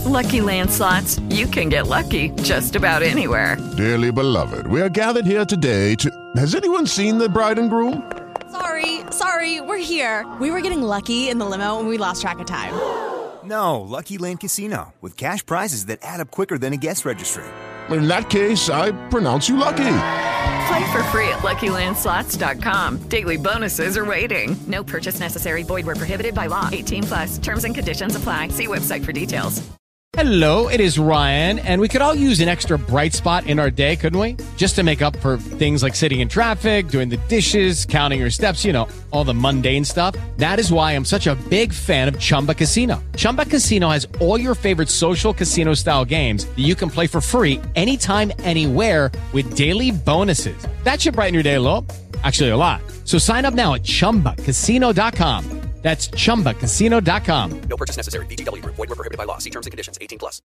Lucky Land Slots, you can get lucky just about anywhere. Dearly beloved, we are gathered here today to... Has anyone seen the bride and groom? Sorry, we're here. We were getting lucky in the limo and we lost track of time. No, Lucky Land Casino, with cash prizes that add up quicker than a guest registry. In that case, I pronounce you lucky. Play for free at LuckyLandSlots.com. Daily bonuses are waiting. No purchase necessary. Void where prohibited by law. 18+. Terms and conditions apply. See website for details. Hello, it is Ryan, and we could all use an extra bright spot in our day, couldn't we? Just to make up for things like sitting in traffic, doing the dishes, counting your steps, you know, all the mundane stuff. That is why I'm such a big fan of Chumba Casino. Chumba Casino has all your favorite social casino-style games that you can play for free anytime, anywhere with daily bonuses. That should brighten your day a little. Actually, a lot. So sign up now at ChumbaCasino.com. That's ChumbaCasino.com. No purchase necessary. VGW Group. Void where prohibited by law. See terms and conditions. 18+.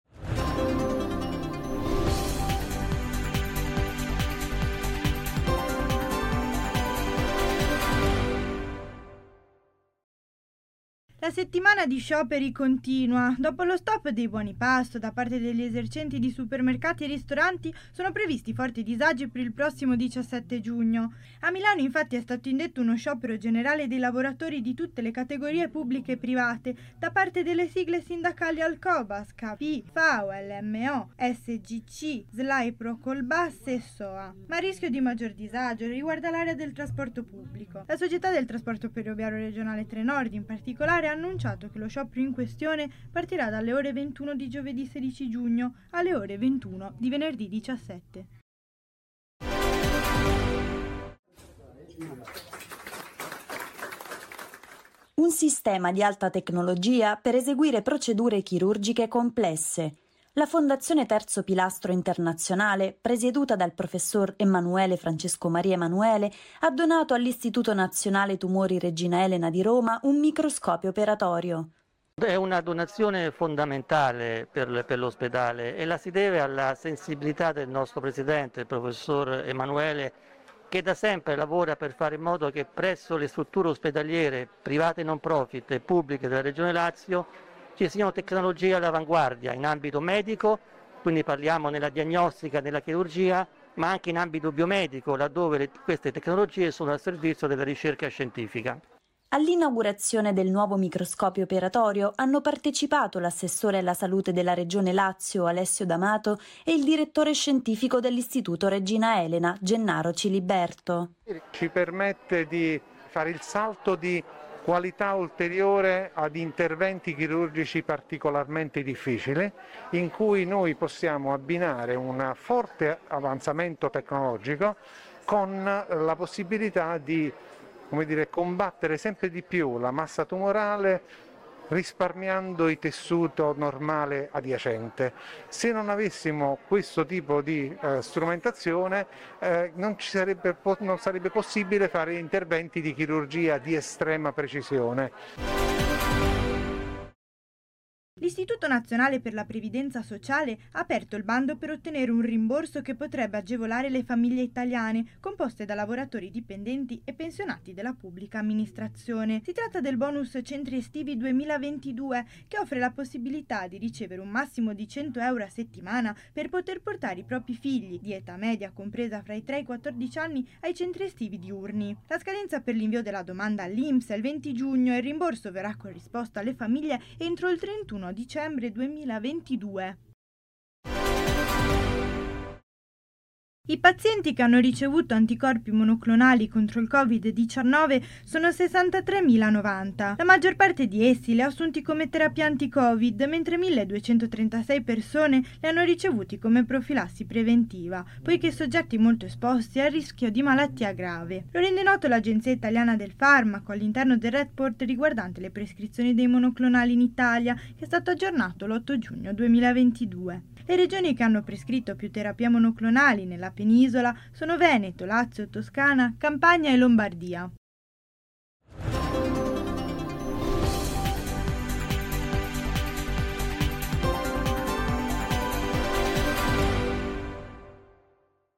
La settimana di scioperi continua. Dopo lo stop dei buoni pasto da parte degli esercenti di supermercati e ristoranti, sono previsti forti disagi per il prossimo 17 giugno. A Milano infatti è stato indetto uno sciopero generale dei lavoratori di tutte le categorie pubbliche e private da parte delle sigle sindacali Alcobas, CAPI, FAO, LMO, SGC, SLAI, Procolbas e SOA. Ma il rischio di maggior disagio riguarda l'area del trasporto pubblico. La società del trasporto ferroviario regionale Trenord in particolare ha annunciato che lo sciopero in questione partirà dalle ore 21 di giovedì 16 giugno alle ore 21 di venerdì 17. Un sistema di alta tecnologia per eseguire procedure chirurgiche complesse. La Fondazione Terzo Pilastro Internazionale, presieduta dal professor Emanuele Francesco Maria Emanuele, ha donato all'Istituto Nazionale Tumori Regina Elena di Roma un microscopio operatorio. È una donazione fondamentale per l'ospedale e la si deve alla sensibilità del nostro presidente, il professor Emanuele, che da sempre lavora per fare in modo che presso le strutture ospedaliere private non profit e pubbliche della Regione Lazio ci siano tecnologie all'avanguardia in ambito medico, quindi parliamo nella diagnostica, nella chirurgia, ma anche in ambito biomedico, laddove queste tecnologie sono al servizio della ricerca scientifica. All'inaugurazione del nuovo microscopio operatorio hanno partecipato l'assessore alla salute della Regione Lazio, Alessio D'Amato, e il direttore scientifico dell'Istituto Regina Elena, Gennaro Ciliberto. Ci permette di fare il salto di qualità ulteriore ad interventi chirurgici particolarmente difficili, in cui noi possiamo abbinare un forte avanzamento tecnologico con la possibilità di combattere sempre di più la massa tumorale risparmiando il tessuto normale adiacente. Se non avessimo questo tipo di strumentazione non sarebbe possibile fare interventi di chirurgia di estrema precisione. L'Istituto Nazionale per la Previdenza Sociale ha aperto il bando per ottenere un rimborso che potrebbe agevolare le famiglie italiane composte da lavoratori dipendenti e pensionati della pubblica amministrazione. Si tratta del bonus Centri Estivi 2022 che offre la possibilità di ricevere un massimo di 100 euro a settimana per poter portare i propri figli di età media compresa fra i 3 e i 14 anni ai centri estivi diurni. La scadenza per l'invio della domanda all'INPS è il 20 giugno e il rimborso verrà corrisposto alle famiglie entro il 31 dicembre 2022. I pazienti che hanno ricevuto anticorpi monoclonali contro il Covid-19 sono 63.090. La maggior parte di essi li ha assunti come terapia anti-Covid, mentre 1.236 persone li hanno ricevuti come profilassi preventiva, poiché soggetti molto esposti al rischio di malattia grave. Lo rende noto l'Agenzia Italiana del Farmaco all'interno del report riguardante le prescrizioni dei monoclonali in Italia, che è stato aggiornato l'8 giugno 2022. Le regioni che hanno prescritto più terapie monoclonali nella penisola sono Veneto, Lazio, Toscana, Campania e Lombardia.